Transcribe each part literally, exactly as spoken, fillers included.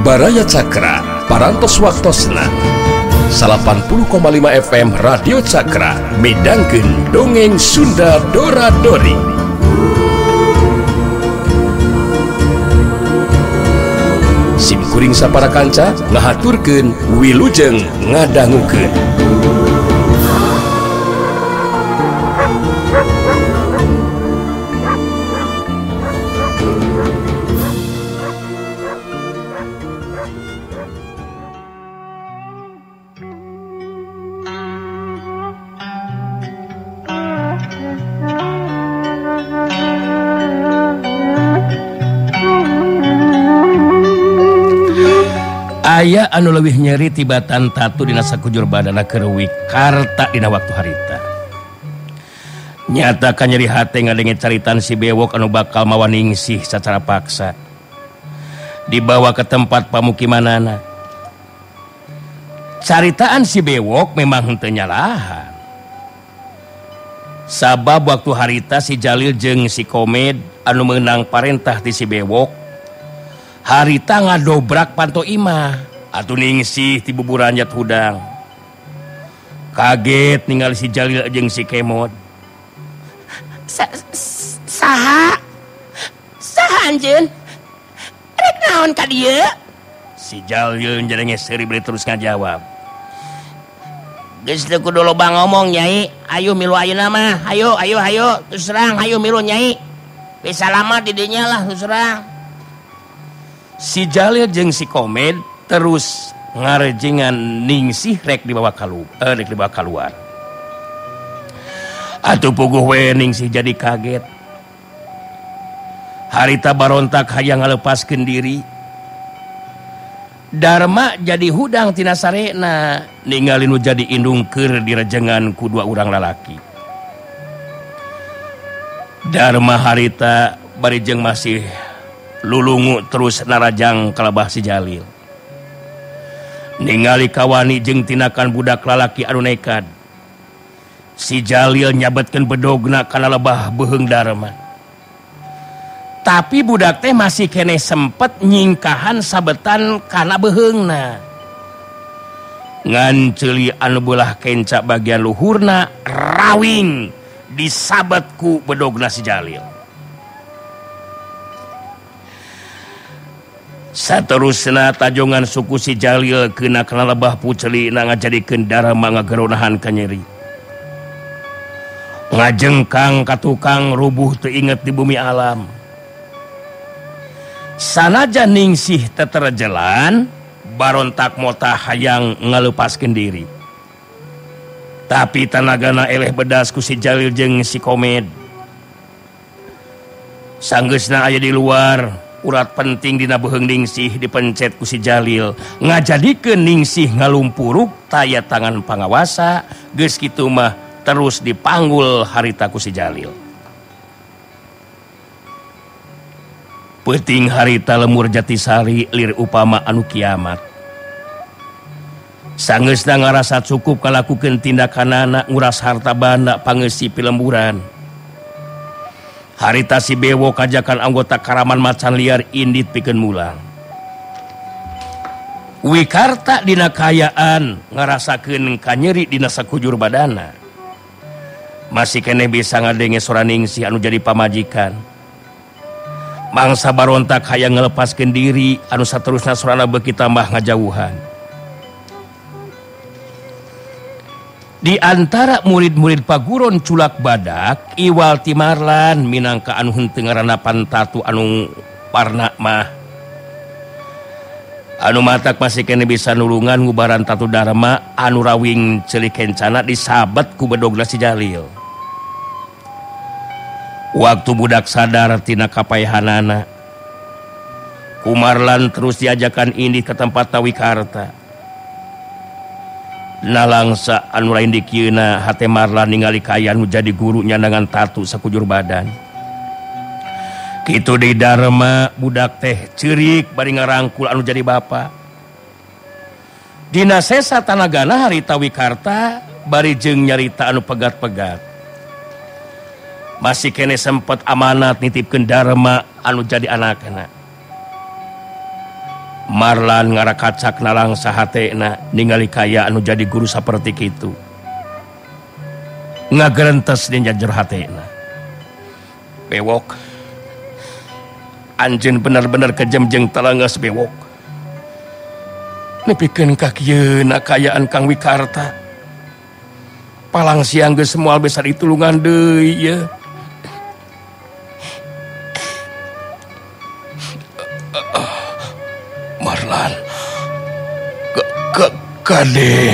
Baraya Cakra parantos waktosna delapan puluh koma lima F M Radio Cakra midangkeun dongeng Sunda Dora-Dori. Simkuring sapara kanca ngahaturkeun wilujeng ngadangukeun. Aya anu leuwih nyeri tibatan tatu dina sakujur badana keur wikarta dina waktu harita. Nyata ka nyeri hate ngadenge caritan si bewok anu bakal mawa ningsih sacara paksa dibawa ke tempat pamukimanana. Caritaan si bewok memang henteu nyalahan. Sabab waktu harita si Jalil jeung si Komed anu meunang parentah ti si bewok harita ngadobrak panto imah atuh ningsih ti buburan jat hudang. Kaget ningali si Jalil jeung si Kemod. Saha? Saha anjeun? Rek naon ka dieu? Si Jalil njarenge seuri bari terus ngajawab. Geus teu kudu loba ngomong Nyai, ayo milu ayeuna mah. Hayo, ayo, hayo, terus serang, hayo milu Nyai. Bisa lama di dinya lah terus serang. Si Jalil jeung si Komed terus ngarejengan ningsih rek dibawa kalu, eh, rek dibawa keluar. Atuh puguh we ningsih jadi kaget. Harita barontak hayang ngalepaskeun diri. Darma jadi hudang tina sarena ningali nu jadi indung keur direjengan ku dua urang lalaki. Darma harita bari jeung masih lulungu terus narajang kalabah si Jalil. Ningali kawani jeung tinakan budak lalaki anu nekat. Si Jalil nyabetkeun bedogna kana lebah beuheung Darma. Tapi budak teh masih kene sempet nyingkahan sabetan kana beuheungna. Ngan ceuli anu beulah kenca bagian luhurna rawing disabet ku bedogna si Jalil. Saterusna tajongan suku si Jalil kena kana lebah pucelina ngajadikeun Darma ngageronahan ka nyeri. Ngajengkang ka tukang rubuh teu inget di bumi alam. Sanajan ningsih teu terejelan barontak mota hayang ngalepaskeun diri. Tapi tanagana eleh bedas ku si Jalil jeung si Komed. Sanggeusna aya di luar. Urat penting dina beuheung ningsih dipencet ku si Jalil ngajadikeun ningsih ngalumpuruk taya tangan pangawasa. Geus kitu mah terus dipanggul harita ku si Jalil. Peuting harita lemur Jatisari lir upama anu kiamat. Sanggeusna ngarasa cukup kalakukeun tindakanana nguras harta banda pangeusih pilemburan. Harita si bewok kajakan anggota karaman macan liar indit pikeun mulang. Wikarta dina kayaan ngarasakeun kanyeri dina sakujur badana. Masih keneh bisa ngadenge sora ningsih anu jadi pamajikan. Mangsa barontak hayang ngalepaskeun diri anu saterusna sorana beuki tambah ngajauhan. Di antara murid-murid paguron culak badak iwal timarlan minangka anu henteu ngaranna pantatu anu parna mah anu matak masih kene bisa nulungan ngubaran tatu Darma anu rawing ceuli kencana disabet ku bedogna si Jalil. Waktu budak sadar tina kapaehanana Kumarlan terus diajakan ini ke tempat Tawikarta. Nalangsa anu lain dikieuna hate Marlan ningali kayan nu jadi gurunya dengan tatu sakujur badan. Kitu deui Darma budak teh ceurik bari ngarangkul anu jadi bapa. Dina sesa tanagana hari Tawikarta bari jeung nyarita anu pegat-pegat. Masih kene sempet amanat nitipkeun Darma anu jadi anakna. Marlan ngarakacak nalang sahatena ningali kaya anu jadi guru saperti kitu. Ngagerentes dina jero hatena. Bewok. Anjeun bener-bener kejem jeung telenges bewok. Nepikeun ka kieu na kayaan Kang Wikarta. Palang siang geus moal besar ditulungan deui ye. Marlan. Ke ke kade.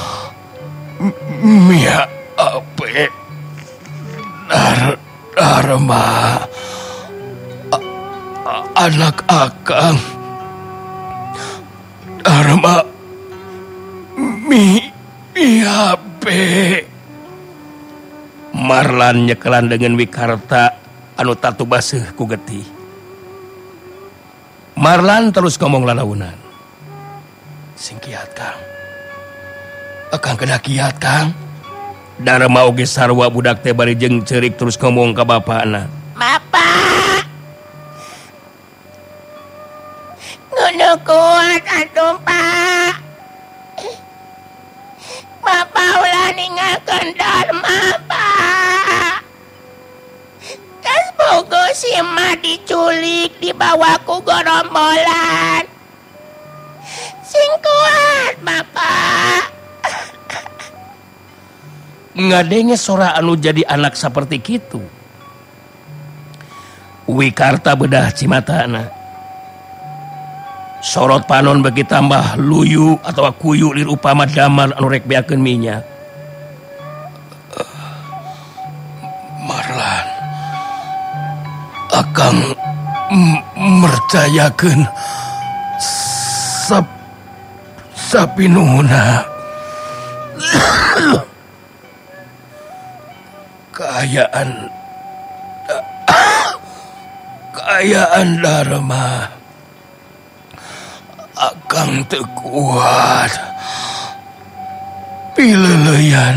Mia ape. Dar Dharma. Anak akang. Dharma. Mi Miape. Marlan nyekelan dengan Wikarta anu tatu baseuh ku getih. Marlan terus ngomong lalaunan. Sing kiat Kang. Akang kena kiat Kang. Dharma oge sarua budak teh bari jeung ceurik terus ngomong ka bapana. Bapak. Ngono kuat atuh Pak. Bapak ulah ninggalkeun Dharma Pak. Tas bogo si emak diculik dibawa ku gerombolan. Sing kuat Bapak. Ngadenge sora anu jadi anak seperti kitu. Wikarta bedah cimatana. Sorot panon bagi tambah luyu atau kuyu lir upama damar anu rek beakeun minyak. Marlan. Akang mercayakeun sap sapinuhuna. Kayaan kayaan Dharma akang teu kuat. Pileleyan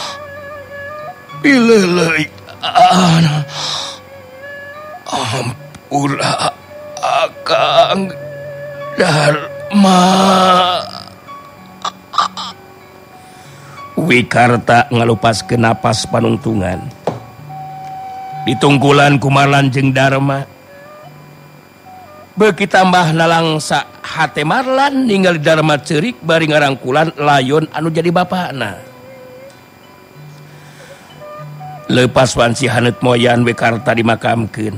pileleyan ampura akang Dharma. Wikarta ngalupaskeun napas panungtungan. Ditunggulan ku Marlan jeung Dharma. Beuki tambah nalangsa hate Marlan ningali Dharma ceurik bari ngarangkulan layon anu jadi bapana. Leupas wanci haneut moyan Wikarta dimakamkeun.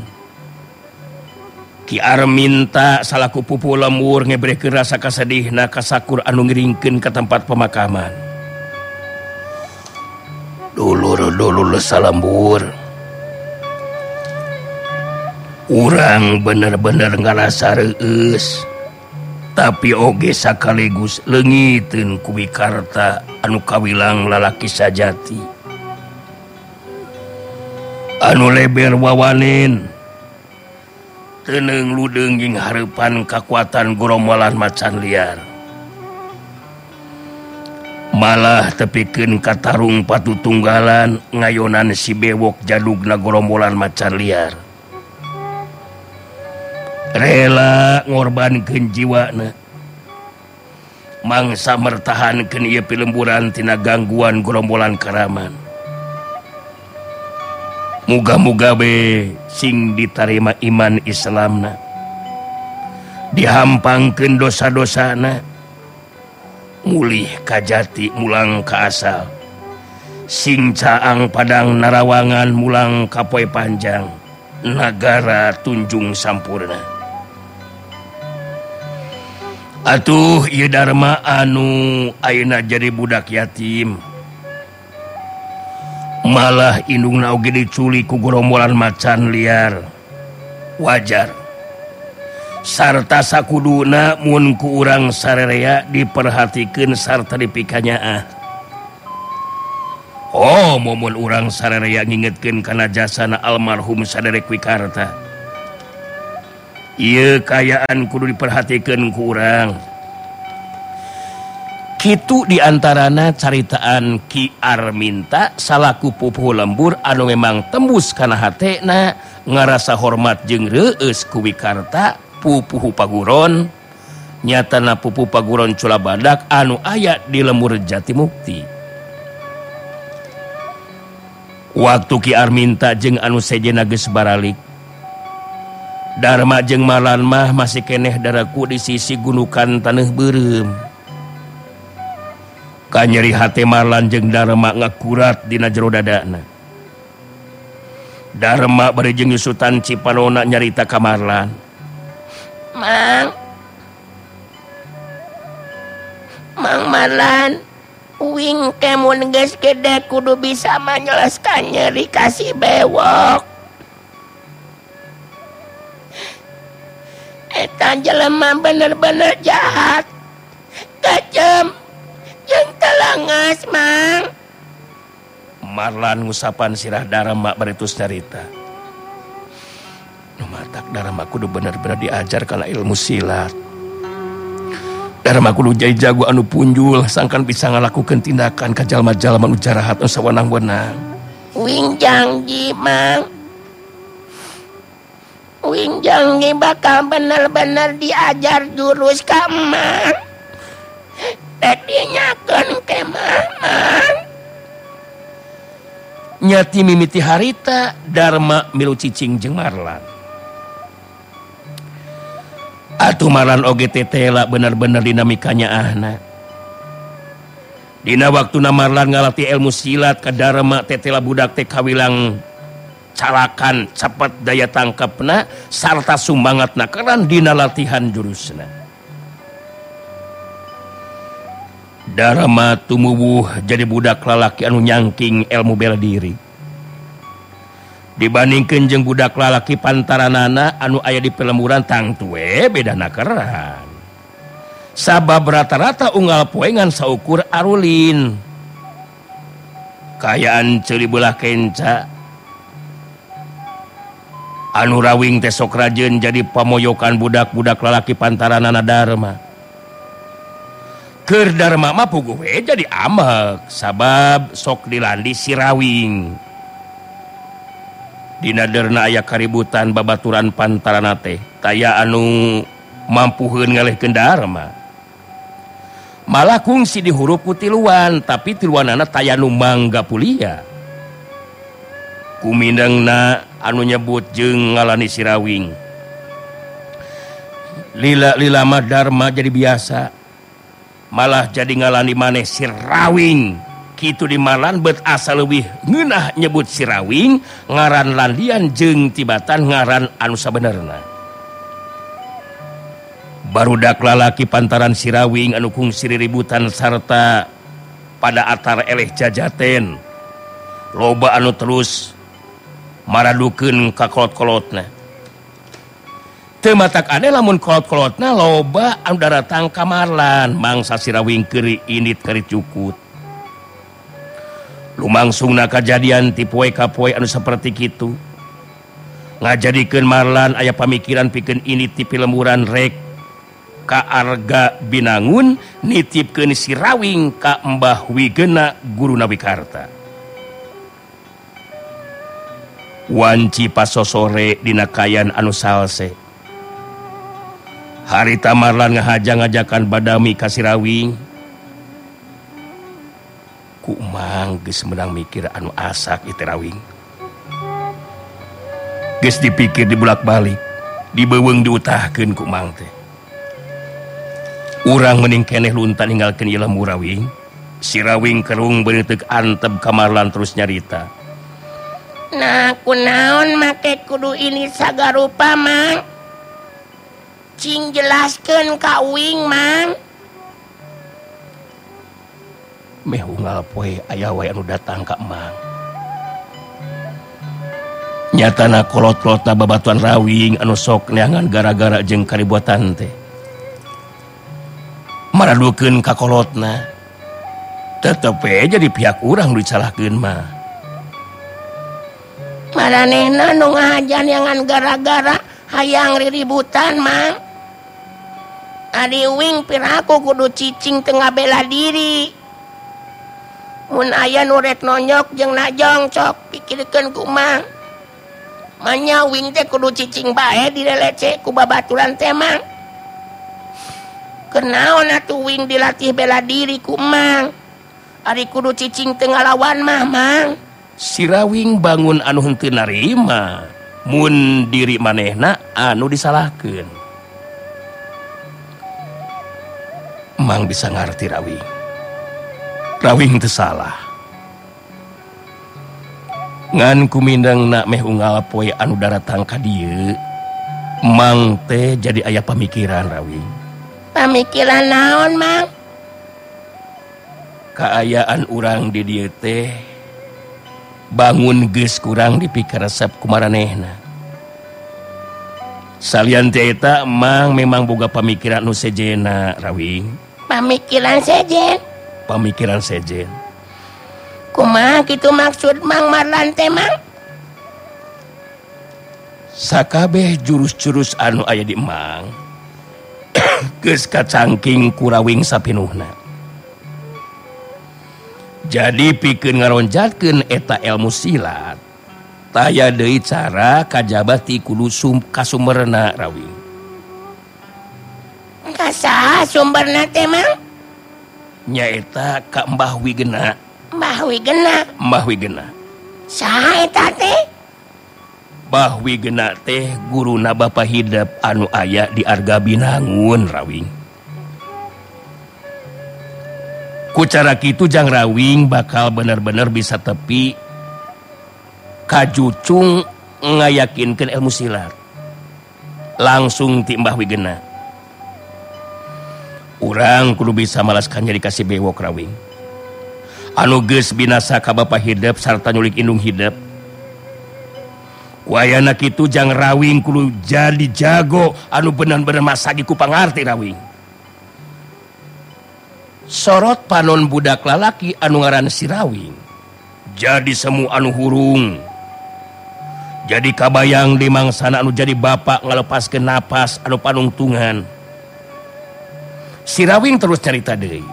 Ki Arminta salaku pupu lembur ngebrekeun rasa kasedihna ka sakur anu ngiringkeun ka tempat pemakaman. Dulur-dulur salembur. Urang bener-bener ngarasa reueus. Tapi oge sakaligus leungiteun ku Wikarta anu kawilang lalaki sajati. Anu leber wawanen. Teuneng ludeung jeung hareupan kakuatan gerombolan macan liar. Malah tepikeun katarung patutunggalan ngayonan si bewok jadugna gerombolan macan liar. Rela ngorbankeun jiwana. Mangsa mertahankeun ieu pilemburan tina gangguan gerombolan karaman. Muga-muga be sing ditarima iman Islamna. Dihampangkeun dosa-dosana. Mulih kajati mulang ka asal. Sing caang padang narawangan mulang ka poe panjang. Nagara tunjung sampurna. Atuh ieu Dharma anu ayeuna jadi budak yatim. Malah indungna oge diculik ku gerombolan macan liar. Wajar. Sarta sakuduna mun ku urang sarerea diperhatikeun sarta dipikanyaah. Oh, momun urang sarerea ngingetkeun kana jasana almarhum saderek Wikarta. Ieu kayaan kudu diperhatikeun ku urang. Kitu diantarana caritaan Ki Arminta salaku pupuh lembur anu memang tembus kana hatena ngarasa hormat jeung reueus ku Wikarta pupuh paguron nyatana pupu paguron cula badak anu aya di lembur Jatimukti. Waktu Ki Arminta jeung anu sejena geus baralik, Darma jeung Marlan mah masih keneh daraku di sisi gunukan taneuh beureum. Kanyeri hate Marlan jeung Darma ngakurat dina jero dadana. Darma bari jeung nyusutan Cipanona nyarita ka Marlan. Mang, Mang Marlan, uing kemun geus gede kudu bisa menjelaskan nyeri kasih bewok. Eta jelema bener-bener jahat, kejam, jeung telangas, Mang. Marlan ngusapan sirah Darma baritus nyarita. Nu matak Darma kudu bener-bener diajar kana ilmu silat. Darma kudu jadi jago anu punjul sangkan bisa ngalakukeun tindakan ka jalma-jalma anu jarahat anu sawenang-wenang. Uing janji, Mang. Uing janji bakal bener-bener diajar jurus ka Mang. Tek dinyakeun ke Mang. Nyati mimiti harita Darma milu cicing jeung Marlan. Atuh Marlan oge tetela bener-bener dinamikanya ahna. Dina waktuna Marlan ngalatih ilmu silat ka Darma tetela budak teh kawilang calakan cepet daya tangkapna sarta sumbangatna keran dina latihan jurusna. Darma tumubuh jadi budak lalaki anu nyangking ilmu bela diri. Dibandingkeun jeung budak lalaki pantaranana anu aya di pelemuran tangtu we bedana keran. Sabab rata-rata unggal poengan saukur arulin. Kayaan ceuli beulah kenca. Anu rawing teh sok rajeun jadi pamoyokan budak-budak lalaki pantaranana Darma. Keur Darma mah puguh we jadi amek sabab sok dilandi si rawing. Dina derna aya kaributan babaturan pantarana teh taya anu mampuheun ngalehkeun Darma. Malah kungsi dihurup ku tiluan tapi tiluanana taya nu mangga pulia. Kumindengna anu nyebut jeung ngalani si rawing. Lila-lila mah Darma jadi biasa. Malah jadi ngalani maneh si rawing. Kitu di Marlan bet asa leuwih ngeunah nyebut si rawing ngaran landian jeung tibatan ngaran anu sabenerna. Barudak lalaki pantaran si rawing anu kungsi riributan sarta pada atar eleh jajaten. Loba anu terus maradukeun ka kolot-kolotna. Teu matak ade lamun kolot-kolotna loba anu daratang ka Marlan mangsa si rawing keur init keur cukut. Lumangsungna kajadian ti poe ka poe anu saperti kitu. Ngajadikeun Marlan aya pamikiran pikeun ini ti pilemuran rek ka Arga Binangun nitipkeun si rawing ka Mbah Wigena guruna Wikarta. Wanci pasosore dina kayan anu salse. Harita Marlan ngahajang-ngajakan badami ka si rawing. Ku mang geus menang mikir anu asak ieu rawing. Geus dipikir dibulak-balik, dibeuweung diutahkeun ku mang teh. Urang mending keneh lunta ninggalkeun ieu lembu rawing. Si rawing kerung beunteuk antep ka Marlan terus nyarita. Nah, kunaon make kudu ini sagarupa, Mang? Cing jelaskeun ka uing, Mang. Meh unggal poe aya wae anu datang ka Mang. Nyatana kolot-kolotna babatuan rawing anu sok neangan gara-gara jeung karibuatan teh. Maradukeun ka kolotna. Tetep we jadi pihak urang nu disalahkeun mah. Maranehna nu ngahajan yangan gara-gara hayang riributan, Mang. Adi uing piraku kudu cicing tengah bela diri. Mun aya nu rek nonyok jeung najong cok pikirkeun kumaha. Manya wing teh kudu cicing bae direlece ku babaturan teh, Mang. Kenaon atuh Wing dilatih bela diri ku Mang. Ari kudu cicing teu ngalawan mah Mang. Si Rawing bangun anu henteu narima mun diri manehna anu disalahkeun. Mang bisa ngarti Rawing. Rawing teu salah. Ngan kumindangna meh unggal poe anu daratang ka dieu, Mang teh jadi aya pamikiran Rawing. Pamikiran naon Mang? Kaayaan urang di dieu teh bangun geus kurang dipikir resep kumaranehna. Salian teh eta Mang memang boga pamikiran nu sejena Rawing. Pamikiran sejen. Pamikiran sejen. Kumaha kitu maksud Mang Marlan teh Mang? Sakabeh jurus-jurus anu aya di Mang geus kacangking ku Rawing sapinuhna. Jadi pikeun ngaronjatkeun eta ilmu silat, taya deui cara kajaba ti kudu sum kasumberna Rawing. Kasaha sumberna teh Mang? Nyaeta ka Mbah Wigena. Mbah Wigena. Mbah Wigena. Saha eta teh? Mbah Wigena teh guruna Bapa Hidep anu aya di Arga Binangun Rawing. Ku cara kitu jang Rawing bakal bener-bener bisa tepi kajucung ngayakinkeun ilmu silat langsung ti Mbah Wigena. Urang kudu bisa malaskan jadi kasih bewok Rawing anu geus binasa ka Bapa Hidep sarta nyulik indung hidep. Wayana kitu jang Rawing kudu jadi jago anu bener-bener masagi ku pangarti Rawing. Sorot panon budak lalaki anu ngaran si Rawing jadi semu anu hurung, jadi kabayang di mangsana anu jadi bapak ngalepaskeun napas anu panungtungan. Si Rawing terus cerita deui.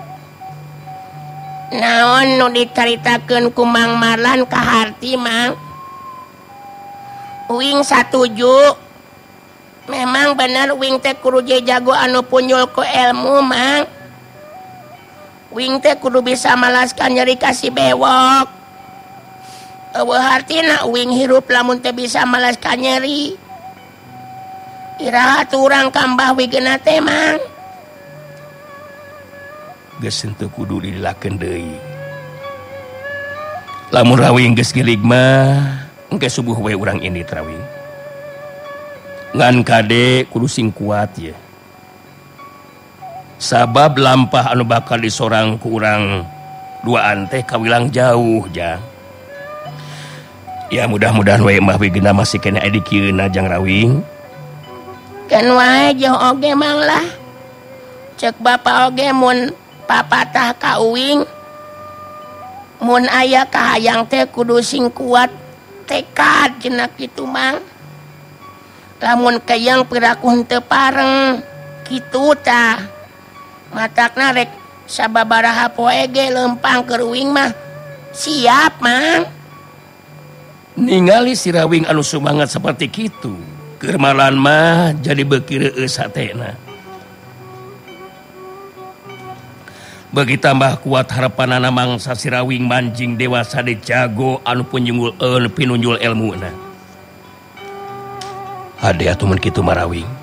Naon nu dicaritakeun ku Mang Marlan ka harti Mang? Wing satuju. Memang bener Wing teh kudu jago anu punyul ku ilmu Mang. Wing teh kudu bisa malaskan nyeri kasih bewok. Eueuh hartina Wing hirup lamun teh bisa malaskan nyeri. Iraha urang ka Mbah Wigena teh Mang. Geus henteu kudu dilakeun deui. Lamun Rawing geus gilig mah engke subuh we urang ini Rawing. Ngan kade kudu sing kuat ya. Sabab lampah anu bakal disorang ku urang duaan teh kawilang jauh jang. Ya mudah-mudahan we Mbah Wigena masih kena aya di kieuna jang Rawing. Kan wae jauh oge Mang lah. Cek bapa oge mun papatah ka uwing. Mun aya kahayang teh kudu sing kuat tekad cenah kitu Mang. Lamun kayang piraku henteu pareng kitu tah. Matakna rek sababaraha poe ge lempang keur Uwing mah siap Mang. Ningali si Rawing anu sumangat seperti kitu keur Marlan mah jadi beuki reueus hatena. Bagi tambah kuat harapanana mangsa si Rawing manjing dewasa di jago anu punjunggul eun pinunjul ilmuna. Hade atuh mun kitu mah Rawing.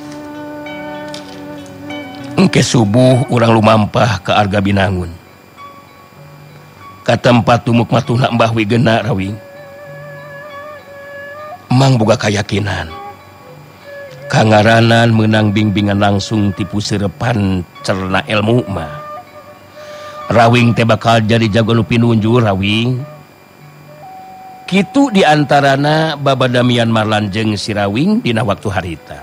Engke subuh urang lumampah ke Arga Binangun. Ka tempat tumuk matuna Mbah Wigena Rawing. Mang boga kayakinan. Kangaranan menang bimbingan langsung tipu serepan cerna ilmu mah. Rawing teh bakal jadi jago nu pinunjul Rawing. Kitu diantarana babadamian Marlan jeung si Rawing dina waktu harita.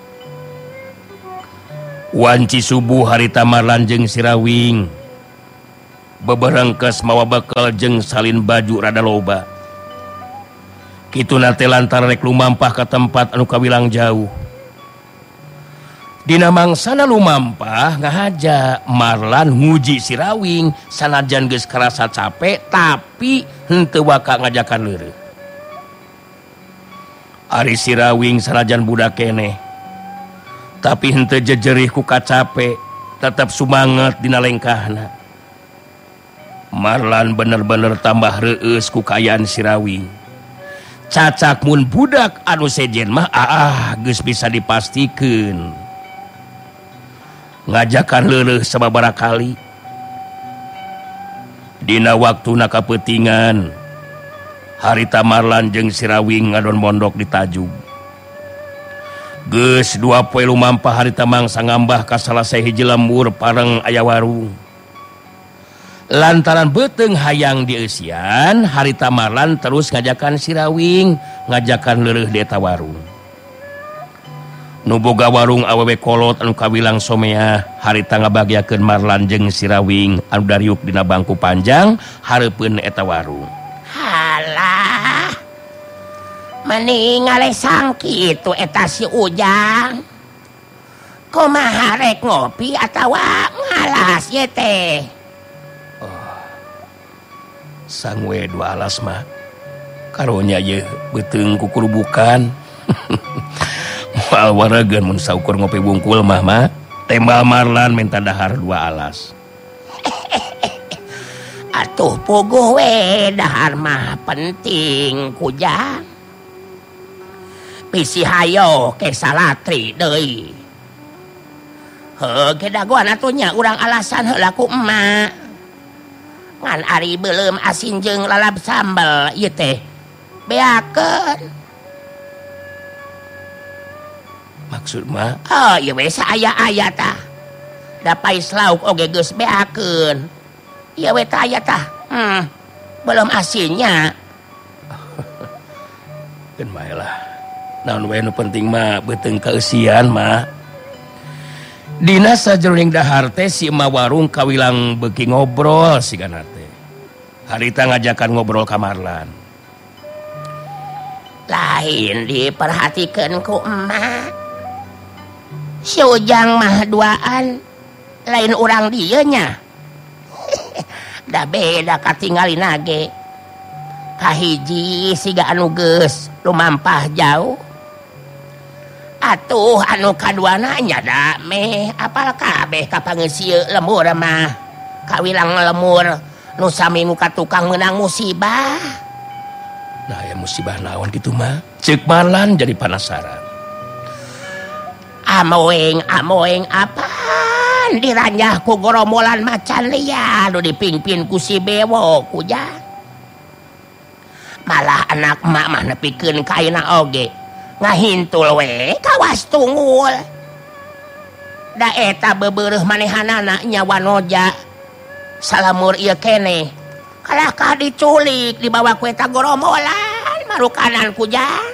Wanci subuh harita Marlan jeung si Rawing beberengkes mawa bekal jeung salin baju rada loba. Kitu nate lantaran rek lumampah ka tempat anu kawilang jauh. Dina mangsana lumampah ngahaja Marlan nguji si Rawing sanajan geus karasa capek tapi henteu waka ngajakan leureuh. Ari si Rawing sanajan budak keneh tapi henteu jejerih ku kacape tetap semangat dina lengkahna. Marlan bener-bener tambah reueus ku kayaan si Rawing. Cacak mun budak anu sejen mah ah geus bisa dipastikeun. Ngajakan leuleuh sababaraha kali. Dina waktuna kapeutingan, harita Marlan jeung si Rawing ngadon mondok di Tajub. Geus dua poe lumampah harita mangsa ngambah ka salah sahiji lembur pareng aya warung. Lantaran beuteung hayang dieusian, harita Marlan terus ngajakan si Rawing ngajakan leuleuh di eta warung. Nu boga warung awewe kolot anu kawilang somea, harita ngabagiakeun Marlan jeung si Rawing anu dariuk dina bangku panjang hareupeun eta warung. Halah, mending ngalesang kitu eta si Ujang. Kumaha rek ngopi atawa ngalas ye teh? Sang we dua alas mah karunya ye beuteung kukurubukan. Moal warageun mun saukur ngopi bungkul mah mah tembal Marlan minta dahar dua alas. Atuh puguh we dahar mah penting Kujang. Bisi hayo ke salatri deui. Heuh ge dagoan atuh nya urang alasan heula ku emak. Ngan ari beuleum asin jeung lalap sambal ieu teh beakeun. Maksud mah? Oh ieu we saaya-aya tah. Da pais lauk oge geus beakeun. Ieu we tah aya tah. Hmm. Belum asinnya. Keun bae lah. Naon we nu penting mah beuteung kaeusian mah. Dina sajeroning dahar teh si emak warung kawilang beuki ngobrol sigana teh. Harita ngajakan ngobrol ka Marlan. Lain diperhatikeun ku emak. Si Ujang mah duaan, lain urang dieu nya. Da beda katinggalina ge. Kahiji siga anu geus lumampah jauh. Atuh anu kaduana nya da meh apal kabeh ka pangeusieun lemur mah kawilang lemur nu sami muka tukang meunang musibah. Nah ya musibah naon kitu mah ceuk Marlan jadi penasaran. Amoeng amoeng apaan diranjah ku gorombolan macan liar nu dipingpin ku si Bewo Kujang. Malah anak emak mah nepikeun kaina oge ngahintul we kawas tunggul. Da eta bebeureuh manehanana nya wanoja salamur ieu keneh kalahkah diculik dibawa ku eta gorombolan marukanan Kujang.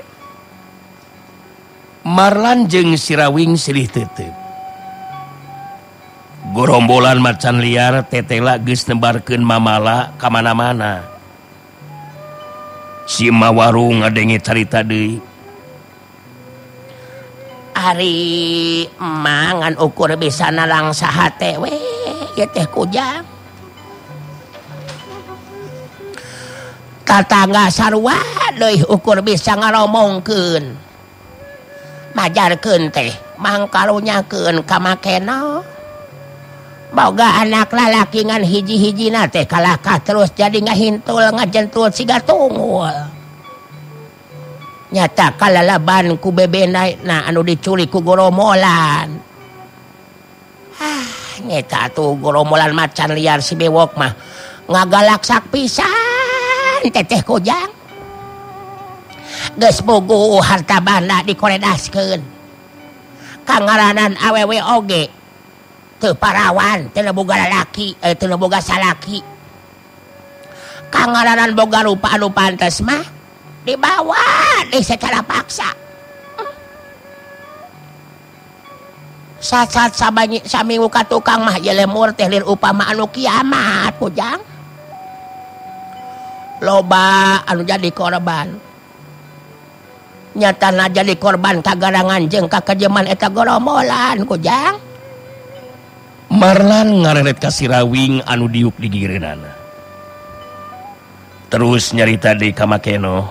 Marlan jeung si Rawing silih teuteub. Gorombolan macan liar tetela geus nembarkeun mamala ka mana-mana. Si emak warung ngadenge carita deui. Ari mangan ukur bisa nalang saha teh we ieu teh Kujang. Tatangga sarua deui ukur bisa ngaromongkeun. Majarkeun teh mangkarunyakeun ka makena. Boga anak lalaki ngan hiji-hijina teh kalahkah terus jadi ngahintul ngajentul siga tunggul. Nyata kalalaban ku bebena na anu diculik ku gorombolan. Ah, nyata tuh gorombolan macan liar si Bewok mah ngagalaksak pisan teteh Kujang. Geus bogo harta banda dikoredaskeun. Kangaranan awewe oge teu parawan, teu boga lalaki, eh, teu boga salaki. Kangaranan boga rupa anu pantes mah dibawa deh secara paksa. Saat-saat sabani sami muka tukang mah ye lemur teh lir upama anu kiamat Kujang. Loba anu jadi korban. Nyatana jadi korban kagarangan jeung kakejeman eta gorombolan Kujang. Marlan ngareret ka si Rawing anu diuk di gigireunana. Terus nyarita deui ka makeno.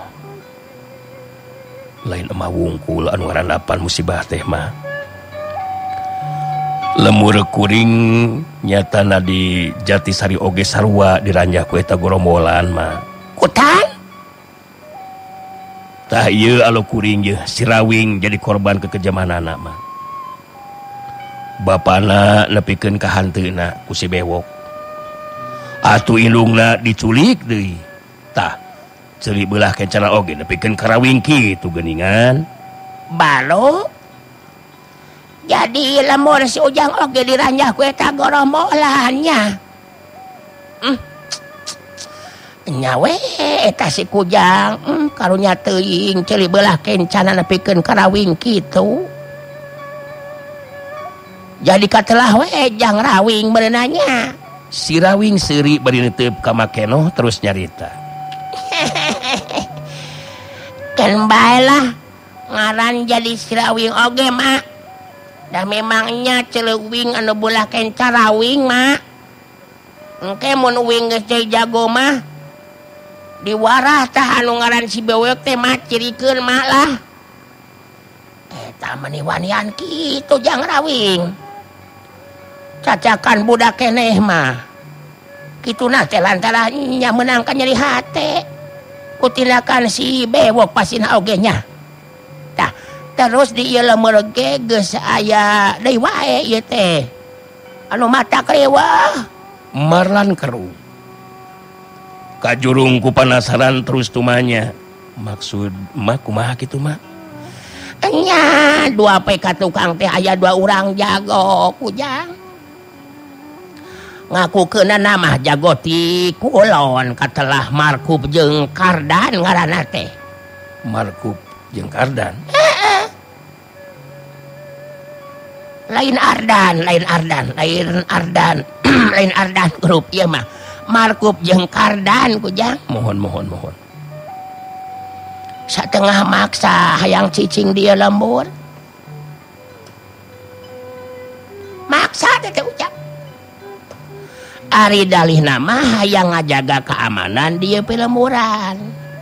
Lain emak wungkul anu ngarandapan musibah teh mah. lemur kuring nyatana di Jatisari oge sarua diranjah ku eta gorombolan mah. Kutan? Tah ieu alo kuring ye si Rawing jadi korban kekejamanana mah. Bapana nepikeun ka hanteuna ku si bewok. Atuh indungna diculik deui. Tah ceuli beulah kencana oge nepikeun ka Rawing kitu geuningan. Balo. Jadi lemur si Ujang oge diranjah ku eta gorombolannya. Hmm. Nya we eta si Kujang, hmm, karunya teuing ceuli beulah kencana nepikeun ka Rawing kitu. Jadi katelah we Jang Rawing berenanya. Si Rawing seuri bari neuteup ka Makeno terus nyarita. Kan bae lah ngaran jadi si Rawing oge mak. Dah memangnya celeuwing anu beulah kenca Rawing mak. Engke mun uwing geus jadi jago mah diwarah tah anu ngaran si bewek teh mah cirikeun mah lah. Eta mah wanian kitu Jang Rawing. Cacakan budak keneh mah. Kituna teh lantaran nya meunang ka nyeri hate. Ku tindakan si bewek pasina oge nya. Tah terus di ieu lemur ge geus aya deui wae ieu teh. Anu mata krewah. Marlan keru. Kajurung ku panasaran terus tumanya. Maksud mah kumaha kitu mah? Nya dua pe ka tukang teh aya dua urang jago Kujang. Ngakukeunna nama jago ti kulon katelah Markup jeung Kardan ngaranna teh. Markup jeung Kardan. Lain Ardan, lain Ardan, lain Ardan, lain Ardan grup ieu mah. Markup jeung Kardan Kujang. Mohon mohon mohon. Satengah maksa hayang cicing dia lembur. Maksa teh Ujang. Ari dalih nama hayang ngajaga keamanan dia pelemuran.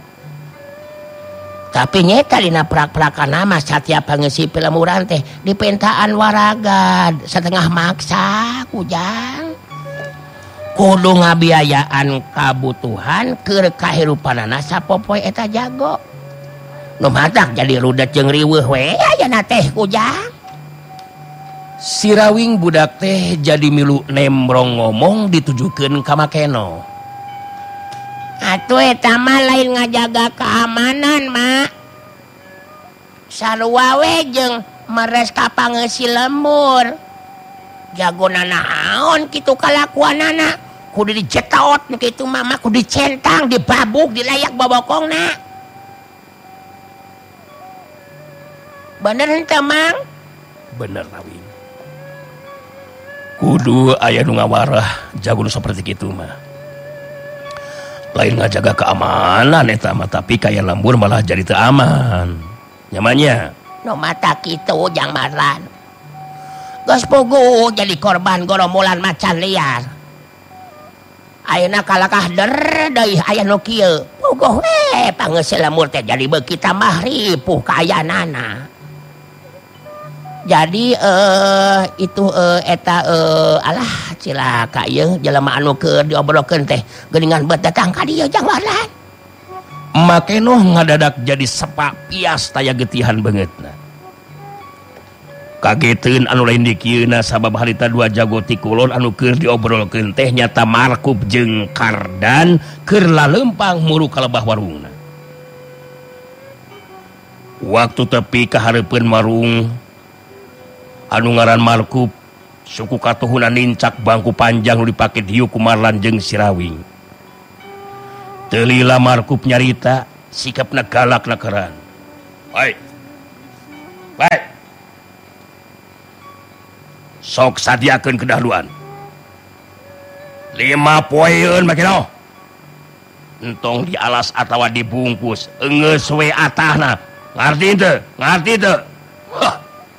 Tapi nyeta dina prak-prakan nama setiap pangeusi pelemuran teh dipentaan waragad setengah maksa Kujang. Kudu ngabiayaan kabutuhan keur kahirupanana sapopoe eta jago. Nu matak jadi rudet jeung riweuh we ayeuna teh Kujang. Si Rawing budak teh jadi milu nembrong ngomong ditujukeun ka Makeno. Atuh eta mah lain ngajaga keamanan mak. Sarua we jeung meres ka pangeusi lembur. Jagona naon kitu kalakuanana. Kudu dijetaot kitu mah mah kudu dicentang, dibabuk, dilayak bobokongna. Bener henteu Mang? Bener Rawing. Kudu aya nu ngawarah jago nu saperti kitu mah. Lain ngajaga keamanan eta mah tapi kaya lembur malah jadi teu aman. Nyamannya. Nu mata kitu Jang Marlan. Geus puguh jadi korban gorombolan macan liar. Ayeuna kalakah der deui aya nu kieu. Puguh we pangeusi lembur teh jadi beuki tambah ripuh kaayanana. Jadi eh itu eh, eta eh, alah cilaka ieu jelema anu keur diobrolkeun teh geuningan beut datang ka dieu Jang Marlan. Makeno ngadadak jadi sepak pias taya getihan beungeutna. Kageteun anu lain di kieuna sabab harita dua jago ti kulon anu keur diobrolkeun teh nyata Markup jeung Kardan keur laleumpang muru ka lebah warungna. Waktu tepi ka hareupeun warung anu ngaran Markup suku katuhuna nincak bangku panjang nu dipake dieu ku Marlan jeung si Rawing. Teu lila Markup nyarita sikapna galak nakeran. Baik. Baik. Sok sadiakeun kedahluan. Lima poeun Makeno. Entong di alas atawa dibungkus, eungeus we atahna. Ngarti teu? Ngarti teu? Hah.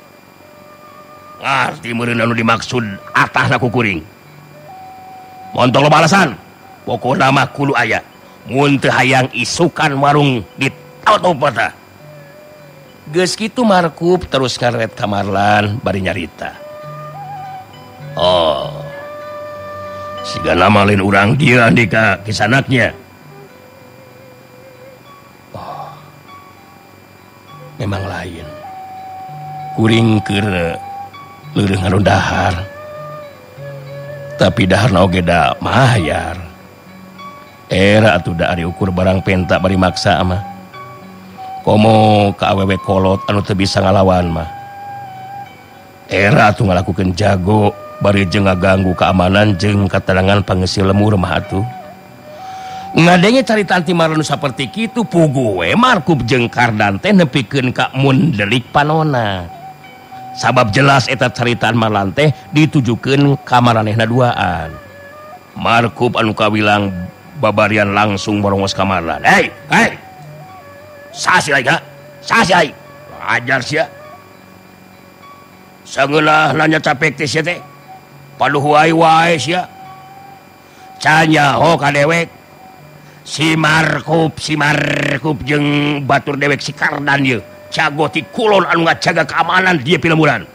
Ngarti meureun anu dimaksud atahna ku kuring. Montong lo balasan. Pokona mah kudu aya. Mun teu hayang isukan warung ditaot-taot. Geus kitu Markup terus ngaret ka Marlan bari nyarita. Oh siga nama lain urang dia di ka kisanaknya. Oh memang lain kuring keur leureung ngaron dahar tapi daharna oge da mahayar era atuh da ari ukur barang penta bari maksa mah komo ka awewe kolot anu teu bisa ngalawan mah era atuh ngalakukeun jago bari jeung ngaganggu keamanan jeung katenangan pangeusi lemur mah atuh ngadenge carita anti maranu saperti kitu pugu we Markup jeung Kardan teh nepikeun ka mun delik panona sabab jelas eta caritaan Marlan teh ditujukeun ka maranehna duaan. Markup anu kawilang babarian langsung borongos ka Marlan. Hei, hei. Saha si Aing? Saha si Aing? Ajar sia. Sangeunah nanya capek teh sia teh. Paduh wae-wae sia. Canya ho ka dewek. Si Markup, si Markup jeung batur dewek si Kardan ieu. Jago ti kulon anu ngajaga keamanan dia pilemuran.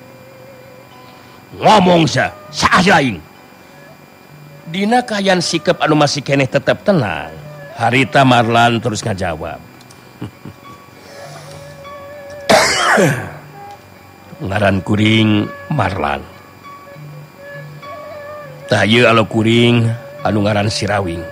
Ngomong sa, saha aing. Dina kayan sikap anu masih keneh tetep tenang, harita Marlan terus ngajawab. Ngaran kuring Marlan. Tah ieu alo kuring anu ngaran Sirawing.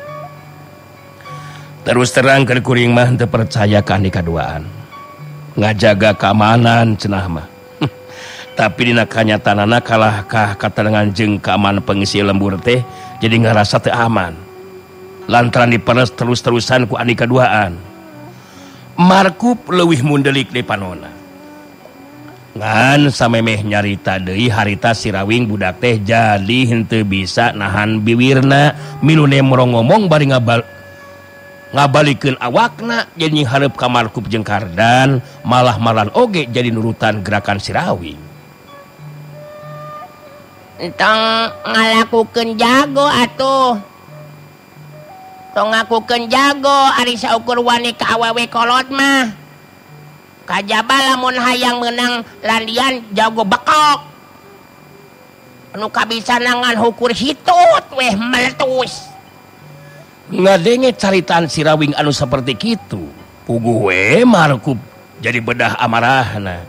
Terus terang ke kuring mah teu percaya ka andi kaduaan. Ngajaga keamanan cenah mah. Tapi dina kanyatanana kalahkah katenangan jeung keamanan pengisi lembur teh jadi ngarasa teu aman. Lantaran diperes terus-terusan ku andi kaduaan. Markup leuwih mundelik di panona. Ngan samemeh nyarita deui harita Sirawing budak teh jadi henteu bisa nahan biwirna milune morong ngomong bari ngabal ngabalikeun awakna jadi hareup ka Markup jeung Kardan malah Marlan oge jadi nurutan gerakan Sirawing. Entong ngalakukeun jago atuh. Tong ngakukeun jago ari saukur wani ka awewe kolot mah. Kajaba lamun hayang meunang landian jago bekok. Anu kabisa nangan hukur hitut weh meletus. Ngadenge caritaan Sirawing anu seperti kitu puguh we Markup jadi bedah amarahna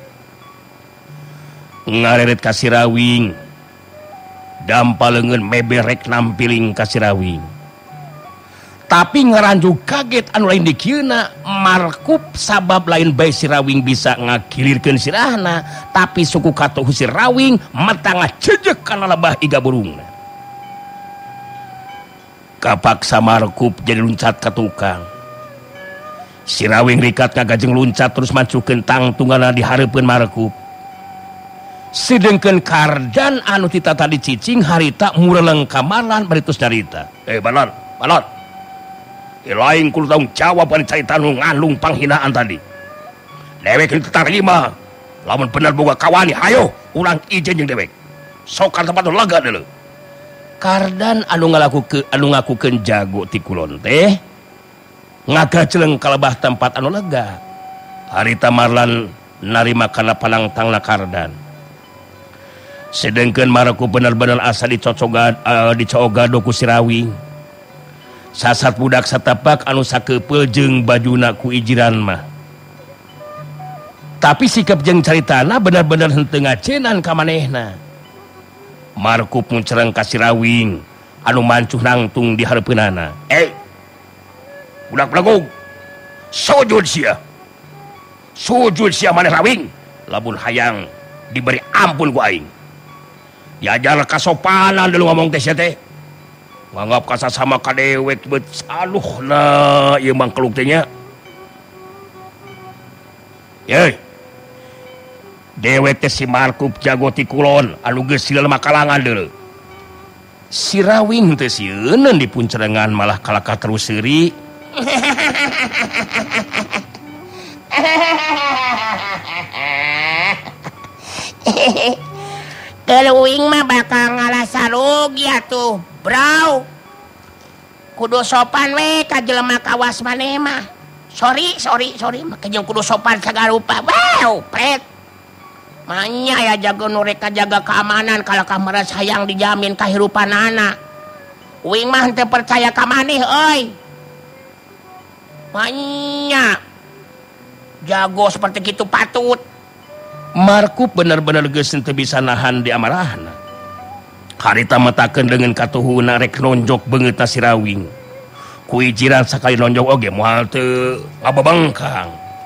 ngareret ka Sirawing dampaleungeun meberek nampiling ka Sirawing tapi ngaranjuk kaget anu lain dikieuna Markup sabab lain bae Sirawing bisa ngakilirkeun sirahna tapi suku katuh Sirawing mata ngacejek kana lebah iga burungna. Kapaksa Markup jadi luncat ke tukang. Sirawing rikat ngagajeng luncat terus mancukeun tangtungana dihareupeun Markup. Sedengkeun Kardan anu tita tadi cicing harita mureleng ka Marlan baritus darita. Eh Marlan, Marlan. Ilaing kudu tanggung jawab ari carita anu ngandung panghinaan tadi. Dewek kitu tarima. Lamun bener boga kawani, hayo urang ijen jeung dewek. Sok ka tempat lega deuleu. Kardan anu ngalakukeun anu ngakukeun jago ti kulon teh ngagajeleng kalebah tempat anu lega. Harita Marlan narima kana palangtangna Kardan. Sedengkeun Markup bener-bener asa dicocogad uh, dicogado ku Sirawing. Sasat budak satapak anu sakeupel jeung bajuna ku ijiran mah. Tapi sikap jeung caritana bener-bener henteu ngacenan ka manehna. Markup muncereng ka Sirawing anu mancuh nangtung di hareupeunana. Eh. Budak belagog. Sujud sia. Sujud sia maneh Rawing. Lamun hayang diberi ampun ku aing. Diajar kasopanan deuleu ngomong teh sia teh. Nganggap kasasama ka dewek beut aluhna ieu mangkeluk teh nya. Ye. Dewek teh si Markup jago ti kulon anu geus silema kalangan deuleu. Sirawing teh sieun dipuncerengan malah kalaka terus seuri. Keluing mah bakal ngalasa rugi atuh, bro. Kudu sopan we ka jelema kawas maneh mah. Sorry, sorry, sorry, make jeung kudu sopan sagala rupa. Wow, pret. Manya ya jago nureka jaga keamanan kalau kamera sayang dijamin kehidupan anak. Uing mah teu percaya ka maneh euy. Manya jago seperti gitu patut. Markup bener-bener geus teu bisa nahan di amarahna. Harita matakeun dengan katuhuna rek nonjok beungeutna si Rawing. Ku ijiran sakali nonjok oge moal teu ngababangkang.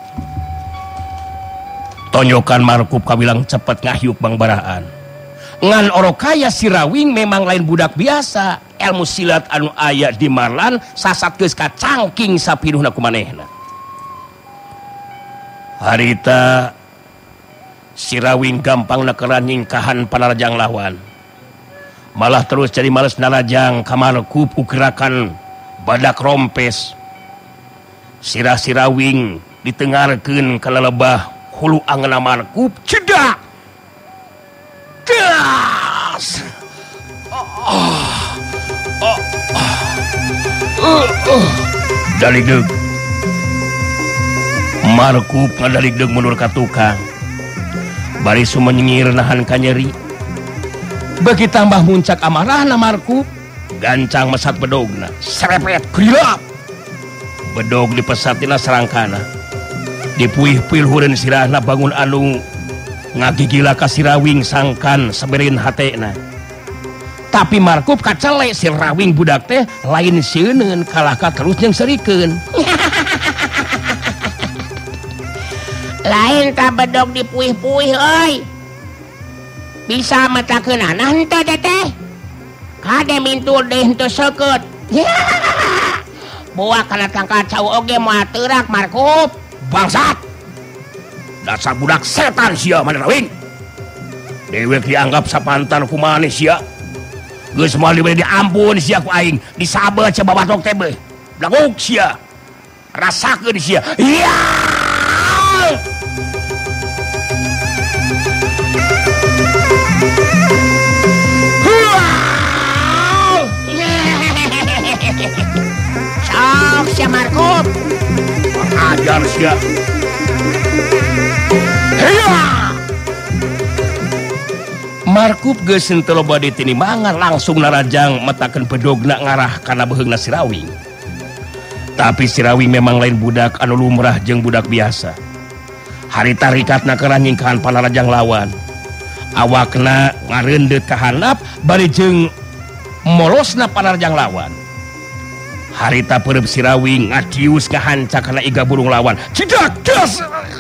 Tonjokan Markup kabilang cepet ngahyuk Bang Baraan. Ngan orokaya si Rawing memang lain budak biasa. Ilmu silat anu aya di Marlan sasatkeus ka cangking sapinuhna kumanehna. Harita si Rawing gampang nakeran nyingkahan panarajang lawan. Malah terus jadi males narajang ka Markup gerakan badak rompes. Sirah si Rawing ditengarkeun ka lelebah hulu angeuna Markup cedak. Das. Oh, oh, oh, oh, oh. Daligdeug. Markup ngadaligdeug mundur ka tukang. Bari sumenyengir nahan ka nyeri. Bagi tambah muncak amarahna Markup, gancang mesat bedogna. Serepet grilap. Bedog dipesatina serangkana. Dipuih-puih hureun sirahna bangun anu ngagigila ka si Rawing sangkan saberin hatena. Tapi Markup kacele si Rawing budak teh lain sieun kalah ka terus jeung serikeun. Lain ka bedog dipuih-puih euy. Bisa matakeun anak henteu teh. Kade mintul deui henteu seukeut. Boa kana tangkacau oge moal teurak Markup. Bangsat. Dasar budak setan sia mana Rawing. Dewek dianggap sapantan ku maneh sia. Geus moal diberi diampun sia ku aing. Disabel ca babatok teh beuh. Blaguk sia. Rasakeun sia. Iya. Sok sia Markup. Ajar sia. Heya. Markup geus teu loba ditinimangan langsung narajang metakeun bedogna ngarah kana beheungna si Rawing. Tapi si Rawing memang lain budak anu lumrah jeung budak biasa. Harita rikatna keran nyingkahan panarajang lawan. Awakna ngareundeut ka handap bari jeung molosna panarajang lawan. Harita pereup si Rawing ngadius ngahanca kana iga burung lawan. Cidak das.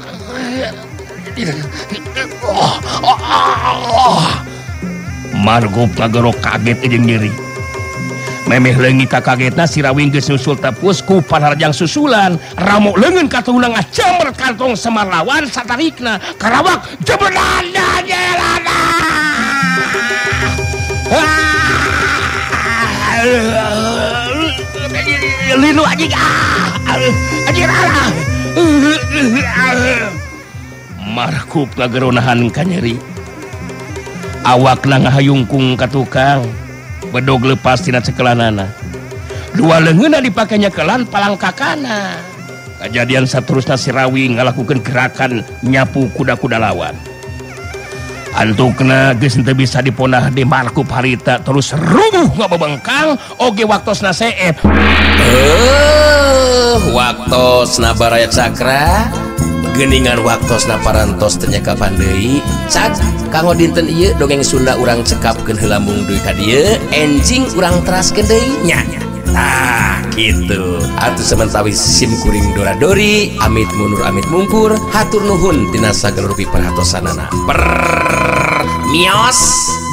Oh, oh, oh. Markup ngagerok kaget jeung nyeri. Memeh leungit ka kagetna si Rawing geus nyusul tepus ku panarajang susulan. Ramo leungeun katuhuna ngajamret kantong semar lawan satarikna. Karawak jebeulana jelana. Linu anjing ah. Anjing ah. Markup ngageronahan ka nyeri. Awakna ngahayungkung ka tukang. Bedog lepas tina cekelanana. Dua leungeunna dipake nyekelan palangkakana. Kejadian saterusna si Rawing ngalakukeun gerakan nyapu kuda-kuda lawan. Antukna geus teu bisa diponah di Markup harita terus rubuh ngababengkang oge waktosna seep. Eh, waktosna Baraya Cakra. Geningan waktosna parantos teu nyakapan deui. Cak kanggo dinten ieu dongeng Sunda urang cekapkeun heula mung deui ka dieu, enjing urang teraskeun deui nya. Tah kitu. Atuh samentawi sim kuring dora-dori, amit mundur amit mungkur, hatur nuhun tina sagala rupi perhatosanana. Per mios.